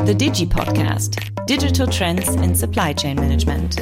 The Digi Podcast, Digital Trends in Supply Chain Management.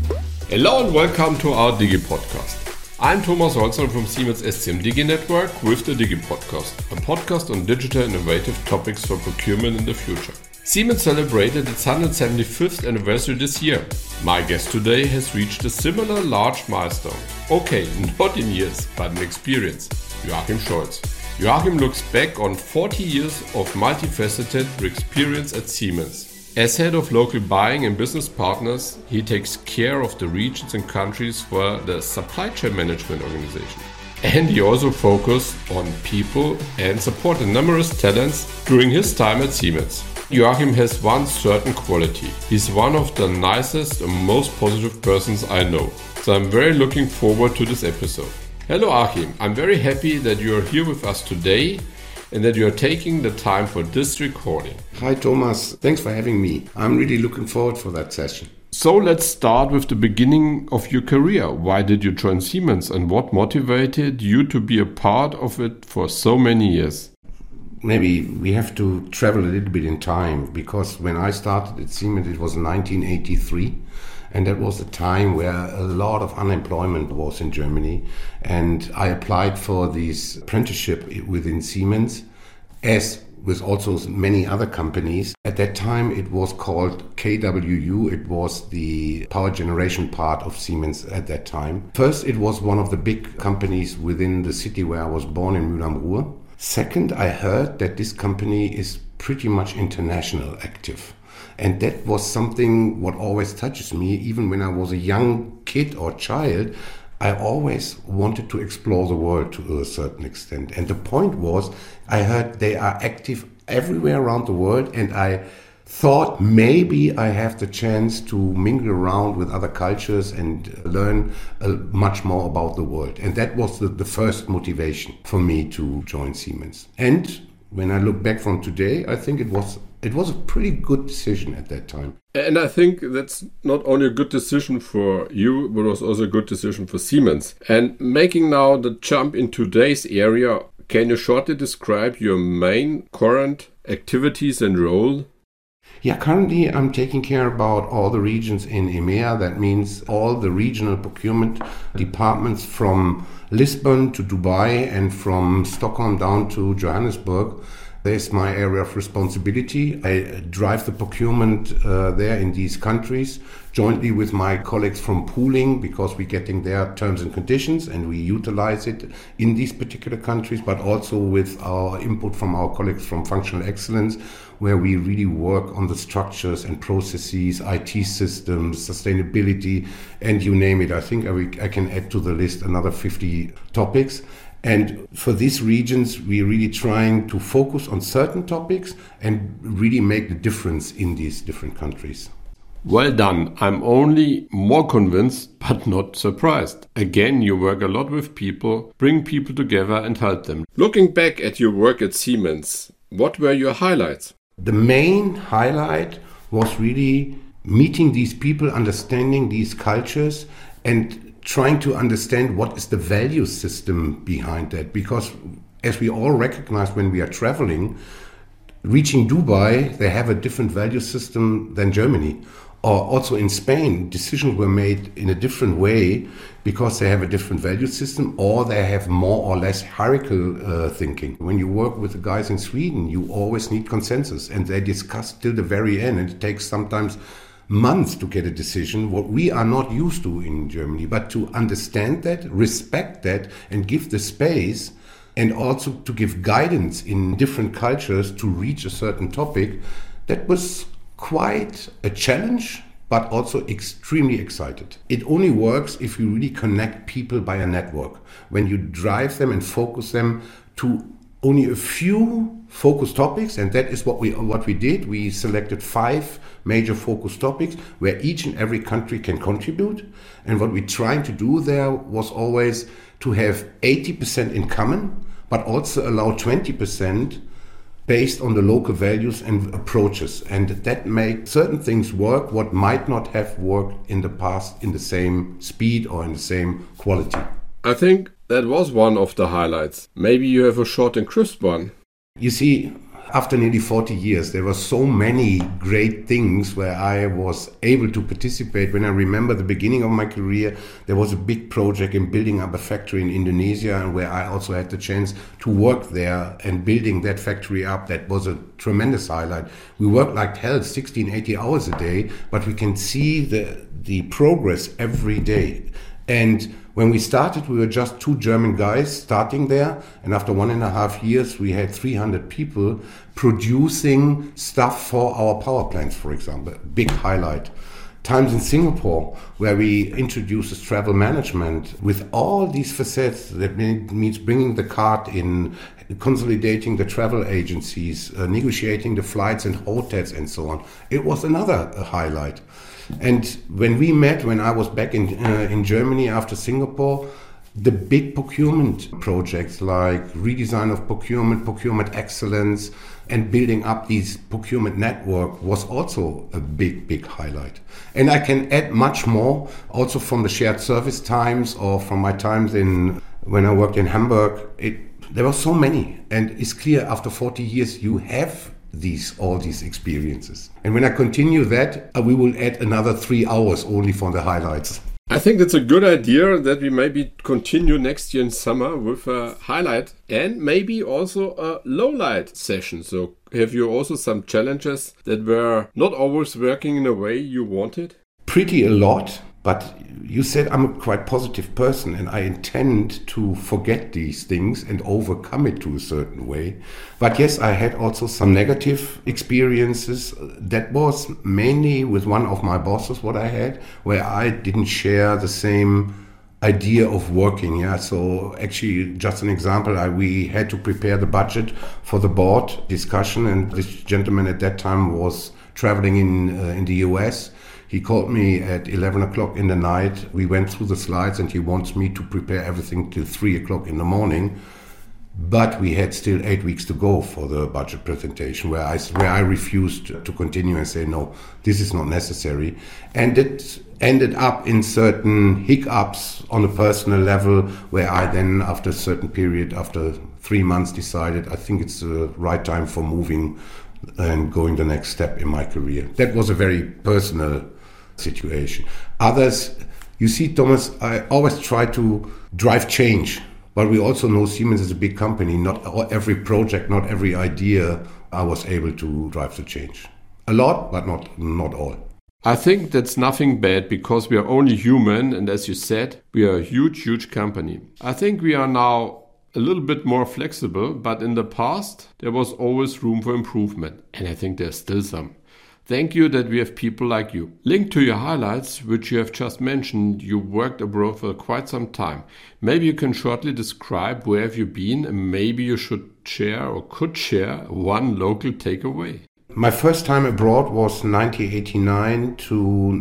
Hello and welcome to our Digi Podcast. I'm Thomas Holzer from Siemens SCM Digi Network with the Digi Podcast, a podcast on digital innovative topics for procurement in the future. Siemens celebrated its 175th anniversary this year. My guest today has reached a similar large milestone. Okay, not in years, but in experience. Joachim Scholz. Joachim looks back on 40 years of multifaceted experience at Siemens. As head of local buying and business partners, he takes care of the regions and countries for the supply chain management organization. And he also focused on people and supported numerous talents during his time at Siemens. Joachim has one certain quality. He's one of the nicest and most positive persons I know. So I'm very looking forward to this episode. Hello Achim, I'm very happy that you are here with us today and that you are taking the time for this recording. Hi Thomas, thanks for having me. I'm really looking forward for that session. So let's start with the beginning of your career. Why did you join Siemens and what motivated you to be a part of it for so many years? Maybe we have to travel a little bit in time, because when I started at Siemens it was 1983. And that was a time where a lot of unemployment was in Germany. And I applied for this apprenticeship within Siemens, as with also many other companies. At that time, it was called KWU. It was the power generation part of Siemens at that time. First, it was one of the big companies within the city where I was born in Mülheim am Ruhr. Second, I heard that this company is pretty much international active. And that was something what always touches me. Even when I was a young kid or child, I always wanted to explore the world to a certain extent. And the point was, I heard they are active everywhere around the world, and I thought maybe I have the chance to mingle around with other cultures and learn much more about the world. And that was the first motivation for me to join Siemens. And when I look back from today, I think it was a pretty good decision at that time. And I think that's not only a good decision for you, but it was also a good decision for Siemens. And making now the jump in today's area, can you shortly describe your main current activities and role? Yeah, currently I'm taking care about all the regions in EMEA. That means all the regional procurement departments from Lisbon to Dubai and from Stockholm down to Johannesburg. There's my area of responsibility. I drive the procurement there in these countries jointly with my colleagues from pooling, because we're getting their terms and conditions and we utilize it in these particular countries, but also with our input from our colleagues from functional excellence, where we really work on the structures and processes, IT systems, sustainability, and you name it. I think I can add to the list another 50 topics. And for these regions, we're really trying to focus on certain topics and really make the difference in these different countries. Well done. I'm only more convinced, but not surprised. Again, you work a lot with people, bring people together and help them. Looking back at your work at Siemens, what were your highlights? The main highlight was really meeting these people, understanding these cultures, and trying to understand what is the value system behind that. Because as we all recognize when we are traveling, reaching Dubai, they have a different value system than Germany. Or also in Spain, decisions were made in a different way because they have a different value system, or they have more or less hierarchical thinking. When you work with the guys in Sweden, you always need consensus, and they discuss till the very end, and it takes sometimes months to get a decision, what we are not used to in Germany. But to understand that, respect that, and give the space, and also to give guidance in different cultures to reach a certain topic, that was quite a challenge, but also extremely excited. It only works if you really connect people by a network. When you drive them and focus them to only a few focus topics, and that is what we did. We selected 5 major focus topics where each and every country can contribute. And what we're trying to do there was always to have 80% in common, but also allow 20% based on the local values and approaches. And that makes certain things work what might not have worked in the past in the same speed or in the same quality. I think that was one of the highlights. Maybe you have a short and crisp one. You see, after nearly 40 years, there were so many great things where I was able to participate. When I remember the beginning of my career, there was a big project in building up a factory in Indonesia, and where I also had the chance to work there and building that factory up. That was a tremendous highlight. We worked like hell, 16, 80 hours a day, but we can see the progress every day. And when we started, we were just 2 German guys starting there. And after 1.5 years, we had 300 people producing stuff for our power plants, for example. Big highlight. Times in Singapore, where we introduced travel management with all these facets. That means bringing the cart in, consolidating the travel agencies, negotiating the flights and hotels and so on. It was another highlight. And when we met, when I was back in Germany after Singapore, the big procurement projects like redesign of procurement excellence, and building up these procurement network was also a big highlight. And I can add much more, also from the shared service times or from my times when I worked in Hamburg. There were so many, and it's clear after 40 years you have all these experiences. And when I continue that, we will add another 3 hours only for the highlights. I think it's a good idea that we maybe continue next year in summer with a highlight and maybe also a lowlight session. So have you also some challenges that were not always working in a way you wanted? Pretty a lot. But you said I'm a quite positive person, and I intend to forget these things and overcome it to a certain way. But yes, I had also some negative experiences. That was mainly with one of my bosses, what I had, where I didn't share the same idea of working. Yeah, so actually, just an example, we had to prepare the budget for the board discussion, and this gentleman at that time was traveling in the US. He called me at 11 o'clock in the night. We went through the slides, and he wants me to prepare everything till 3 o'clock in the morning. But we had still 8 weeks to go for the budget presentation, where I refused to continue and say, no, this is not necessary. And it ended up in certain hiccups on a personal level, where I then, after a certain period, after 3 months, decided I think it's the right time for moving and going the next step in my career. That was a very personal situation. Others, you see, Thomas, I always try to drive change, but we also know Siemens is a big company. Not every project, not every idea I was able to drive the change. A lot, but not all. I think that's nothing bad, because we are only human, and as you said, we are a huge company. I think we are now a little bit more flexible, but in the past there was always room for improvement, and I think there's still some. Thank you that we have people like you. Linked to your highlights, which you have just mentioned, you worked abroad for quite some time. Maybe you can shortly describe where have you been, and maybe you should share or could share one local takeaway. My first time abroad was 1989 to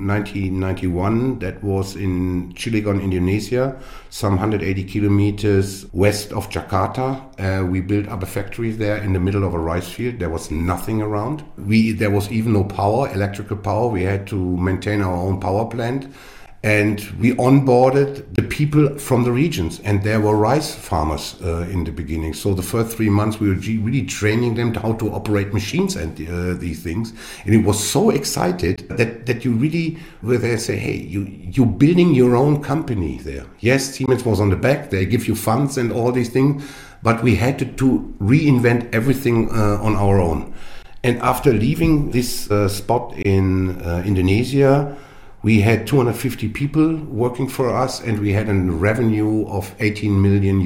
1991. That was in Cilegon, Indonesia, some 180 kilometers west of Jakarta. We built up a factory there in the middle of a rice field. There was nothing around. There was even no power, electrical power. We had to maintain our own power plant. And we onboarded the people from the regions, and there were rice farmers in the beginning. So the first 3 months we were really training them how to operate machines and these things. And it was so excited that you really were there, say, hey, you're building your own company there. Yes, Siemens was on the back, they give you funds and all these things, but we had to reinvent everything on our own. And after leaving this spot in Indonesia, we had 250 people working for us, and we had a revenue of $18 million.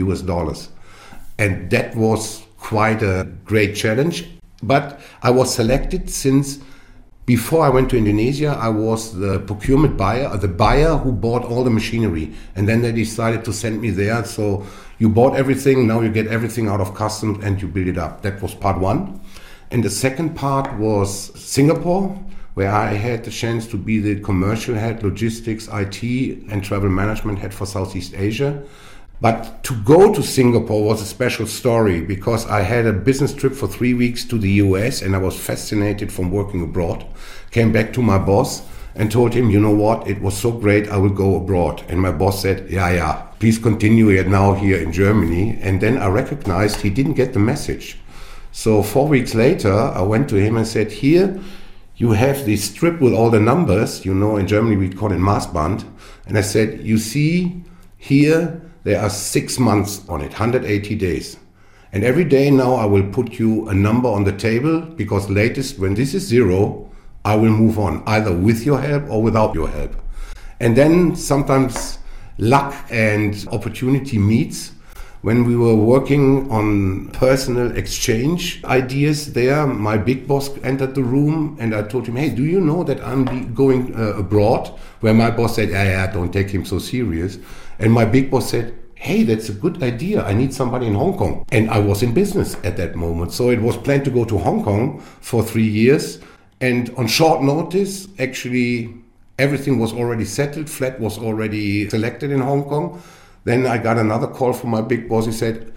And that was quite a great challenge. But I was selected since before I went to Indonesia, I was the procurement buyer, the buyer who bought all the machinery. And then they decided to send me there. So you bought everything, now you get everything out of customs and you build it up. That was part one. And the second part was Singapore, where I had the chance to be the commercial head, logistics, IT, and travel management head for Southeast Asia. But to go to Singapore was a special story, because I had a business trip for 3 weeks to the US, and I was fascinated from working abroad. Came back to my boss and told him, you know what, it was so great, I will go abroad. And my boss said, yeah, please continue it now here in Germany. And then I recognized he didn't get the message. So 4 weeks later, I went to him and said, here, you have this strip with all the numbers, in Germany we call it Maßband. And I said, you see here, there are 6 months on it, 180 days. And every day now I will put you a number on the table, because latest when this is 0, I will move on, either with your help or without your help. And then sometimes luck and opportunity meets. When we were working on personal exchange ideas there, my big boss entered the room and I told him, hey, do you know that I'm going abroad? Where my boss said, yeah, don't take him so serious. And my big boss said, hey, that's a good idea. I need somebody in Hong Kong. And I was in business at that moment. So it was planned to go to Hong Kong for 3 years. And on short notice, actually, everything was already settled. Flat was already selected in Hong Kong. Then I got another call from my big boss. He said,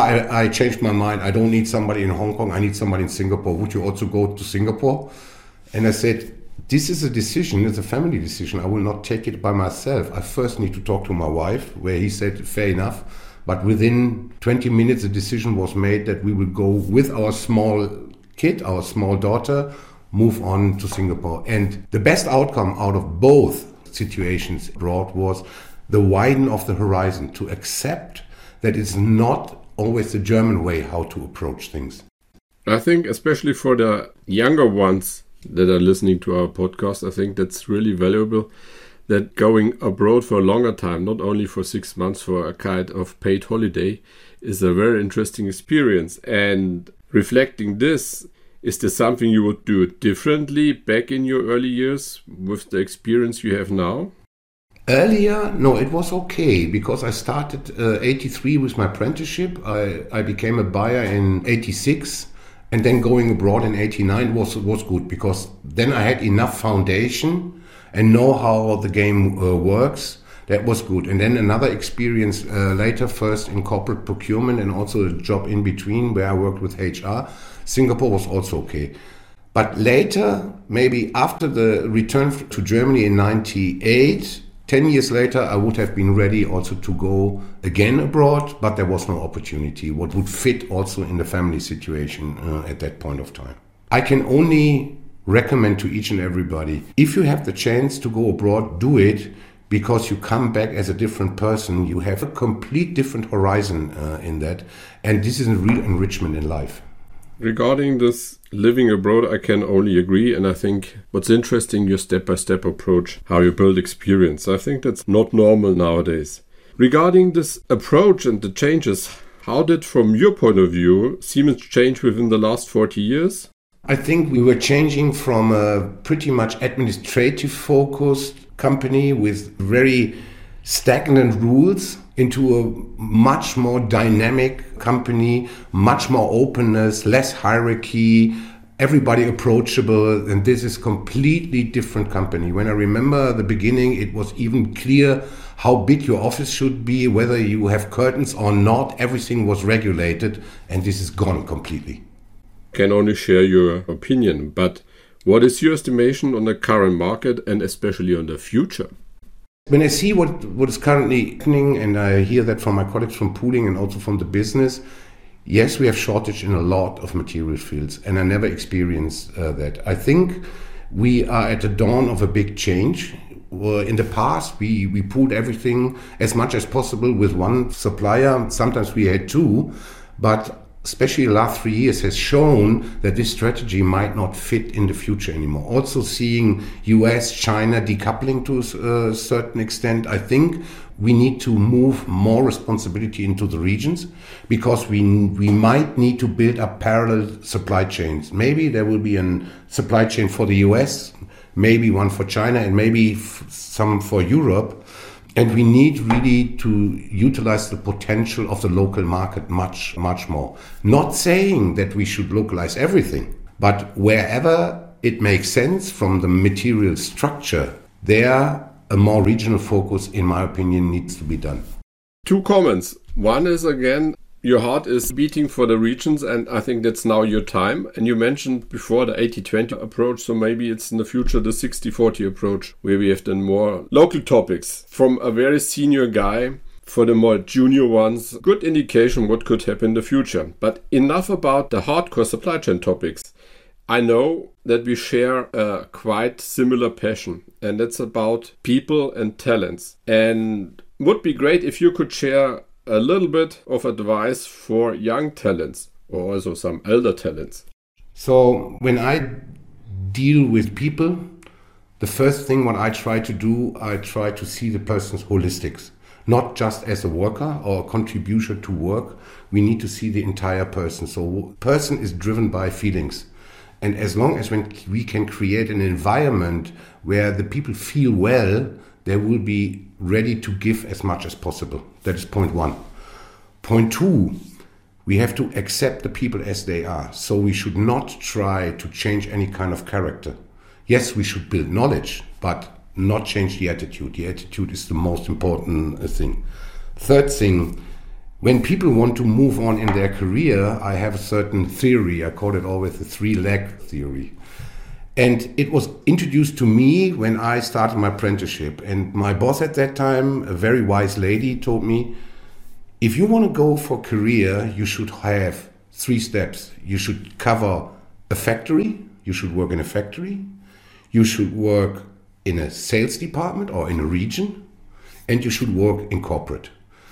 I changed my mind. I don't need somebody in Hong Kong. I need somebody in Singapore. Would you also go to Singapore? And I said, this is a decision. It's a family decision. I will not take it by myself. I first need to talk to my wife, where he said, fair enough. But within 20 minutes, the decision was made that we will go with our small kid, our small daughter, move on to Singapore. And the best outcome out of both situations abroad was the widen of the horizon, to accept that it's not always the German way how to approach things. I think especially for the younger ones that are listening to our podcast, I think that's really valuable, that going abroad for a longer time, not only for 6 months for a kind of paid holiday, is a very interesting experience. And reflecting this, is there something you would do differently back in your early years with the experience you have now? Earlier, no, it was okay, because I started 83 with my apprenticeship. I became a buyer in 86, and then going abroad in 89 was good, because then I had enough foundation and know how the game works. That was good. And then another experience later, first in corporate procurement and also a job in between where I worked with HR. Singapore was also okay. But later, maybe after the return to Germany in 98, 10 years later, I would have been ready also to go again abroad, but there was no opportunity, what would fit also in the family situation at that point of time. I can only recommend to each and everybody, if you have the chance to go abroad, do it, because you come back as a different person. You have a complete different horizon in that, and this is a real enrichment in life. Regarding this living abroad, I can only agree, and I think what's interesting, your step-by-step approach, how you build experience. I think that's not normal nowadays. Regarding this approach and the changes, how did, from your point of view, Siemens change within the last 40 years? I think we were changing from a pretty much administrative-focused company with very stagnant rules into a much more dynamic company, much more openness, less hierarchy, everybody approachable, and this is completely different company. When I remember the beginning, it was even clear how big your office should be, whether you have curtains or not, everything was regulated, and this is gone completely. Can only share your opinion, but what is your estimation on the current market and especially on the future? When I see what is currently happening, and I hear that from my colleagues from pooling and also from the business, yes, we have shortage in a lot of material fields, and I never experienced that. I think we are at the dawn of a big change. In the past, we pooled everything as much as possible with one supplier. Sometimes we had two, but especially the last 3 years has shown that this strategy might not fit in the future anymore. Also seeing US, China decoupling to a certain extent, I think we need to move more responsibility into the regions, because we might need to build up parallel supply chains. Maybe there will be a supply chain for the US, maybe one for China, and maybe some for Europe. And we need really to utilize the potential of the local market much, much more. Not saying that we should localize everything, but wherever it makes sense from the material structure, there a more regional focus, in my opinion, needs to be done. 2 comments. One is, again, your heart is beating for the regions, and I think that's now your time. And you mentioned before the 80-20 approach, so maybe it's in the future the 60-40 approach, where we have then more local topics. From a very senior guy, for the more junior ones, good indication what could happen in the future. But enough about the hardcore supply chain topics. I know that we share a quite similar passion, and it's about people and talents. And would be great if you could share a little bit of advice for young talents or also some elder talents. So when I deal with people, the first thing what I try to do, I try to see the person's holistics. Not just as a worker or a contributor to work. We need to see the entire person. So person is driven by feelings. And as long as when we can create an environment where the people feel well, they will be ready to give as much as possible. That is point one. Point two, we have to accept the people as they are. So we should not try to change any kind of character. Yes, we should build knowledge, but not change the attitude. The attitude is the most important thing. Third thing, when people want to move on in their career, I have a certain theory. I call it always the 3-leg theory. And it was introduced to me when I started my apprenticeship. And my boss at that time, a very wise lady, told me, if you want to go for career, you should have 3 steps. You should cover a factory. You should work in a factory. You should work in a sales department or in a region, and you should work in corporate.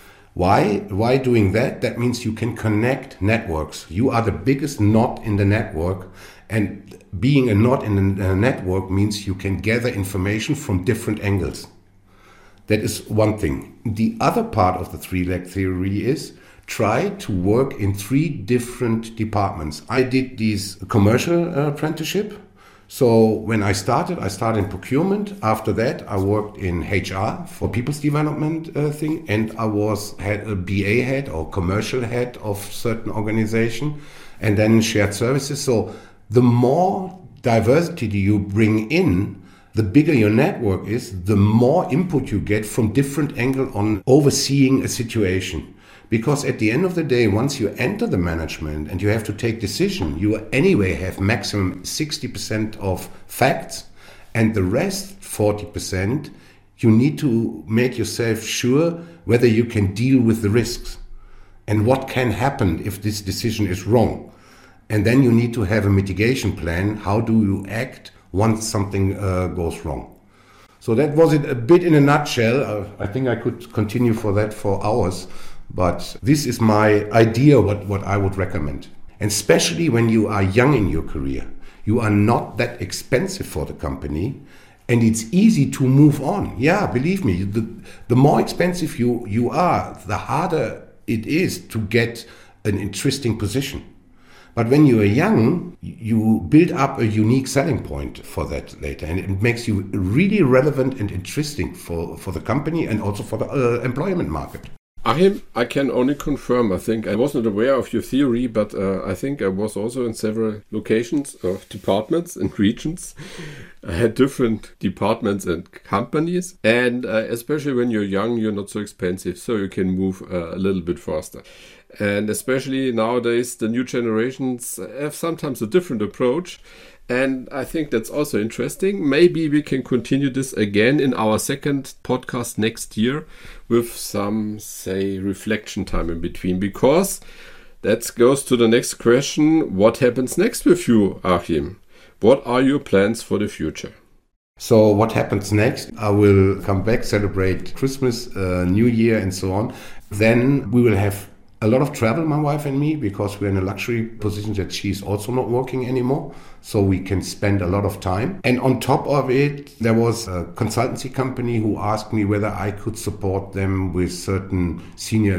Why doing that? That means you can connect networks. You are the biggest knot in the network, and being a knot in the network means you can gather information from different angles. That is one thing. The other part of the 3-leg theory is try to work in 3 different departments. I did this commercial apprenticeship. So when I started in procurement. After that, I worked in HR for people's development thing, and I had a BA head or commercial head of certain organization, and then shared services. So the more diversity you bring in, the bigger your network is, the more input you get from different angles on overseeing a situation. Because at the end of the day, once you enter the management and you have to take decision, you anyway have maximum 60% of facts, and the rest 40%, you need to make yourself sure whether you can deal with the risks and what can happen if this decision is wrong. And then you need to have a mitigation plan. How do you act once something goes wrong? So that was it a bit in a nutshell. I think I could continue for hours. But this is my idea what I would recommend. And especially when you are young in your career, you are not that expensive for the company, and it's easy to move on. Yeah, believe me, the more expensive you are, the harder it is to get an interesting position. But when you are young, you build up a unique selling point for that later, and it makes you really relevant and interesting for the company and also for the employment market. Achim, I can only confirm. I think I wasn't aware of your theory, but I think I was also in several locations or departments and regions. I had different departments and companies, and especially when you're young, you're not so expensive, so you can move a little bit faster. And especially nowadays, the new generations have sometimes a different approach. And I think that's also interesting. Maybe we can continue this again in our second podcast next year with some, say, reflection time in between, because that goes to the next question. What happens next with you, Achim? What are your plans for the future? So what happens next? I will come back, celebrate Christmas, New Year and so on. Then we will have a lot of travel, my wife and me, because we're in a luxury position that she's also not working anymore. So we can spend a lot of time. And on top of it, there was a consultancy company who asked me whether I could support them with certain senior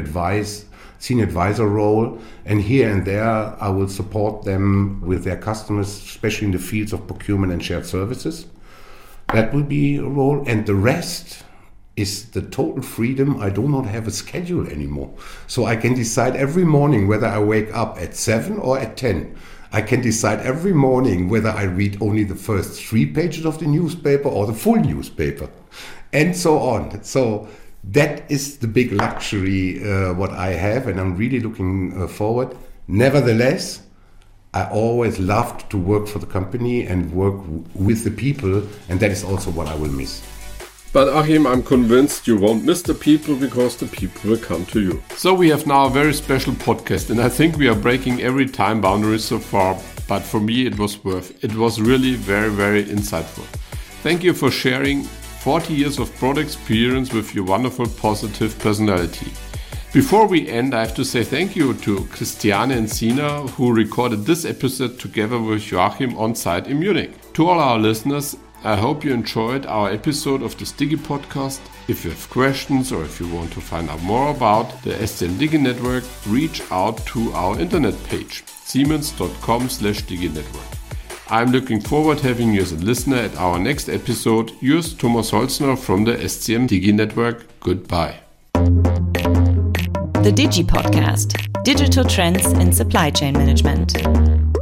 advisor role. And here and there, I will support them with their customers, especially in the fields of procurement and shared services. That will be a role. And the rest is the total freedom. I do not have a schedule anymore. So I can decide every morning whether I wake up at 7 or at 10. I can decide every morning whether I read only the first 3 pages of the newspaper or the full newspaper, and so on. So that is the big luxury what I have, and I'm really looking forward. Nevertheless, I always loved to work for the company and work with the people, and that is also what I will miss. But Achim, I'm convinced you won't miss the people because the people will come to you. So we have now a very special podcast, and I think we are breaking every time boundary so far, but for me it was worth it. It was really very, very insightful. Thank you for sharing 40 years of product experience with your wonderful positive personality. Before we end, I have to say thank you to Christiane and Sina, who recorded this episode together with Joachim on site in Munich. To all our listeners, I hope you enjoyed our episode of the Digi podcast. If you have questions or if you want to find out more about the SCM Digi Network, reach out to our internet page, siemens.com/diginetwork. I'm looking forward to having you as a listener at our next episode. Yours, Thomas Holzner from the SCM Digi Network. Goodbye. The Digi Podcast, Digital Trends in Supply Chain Management.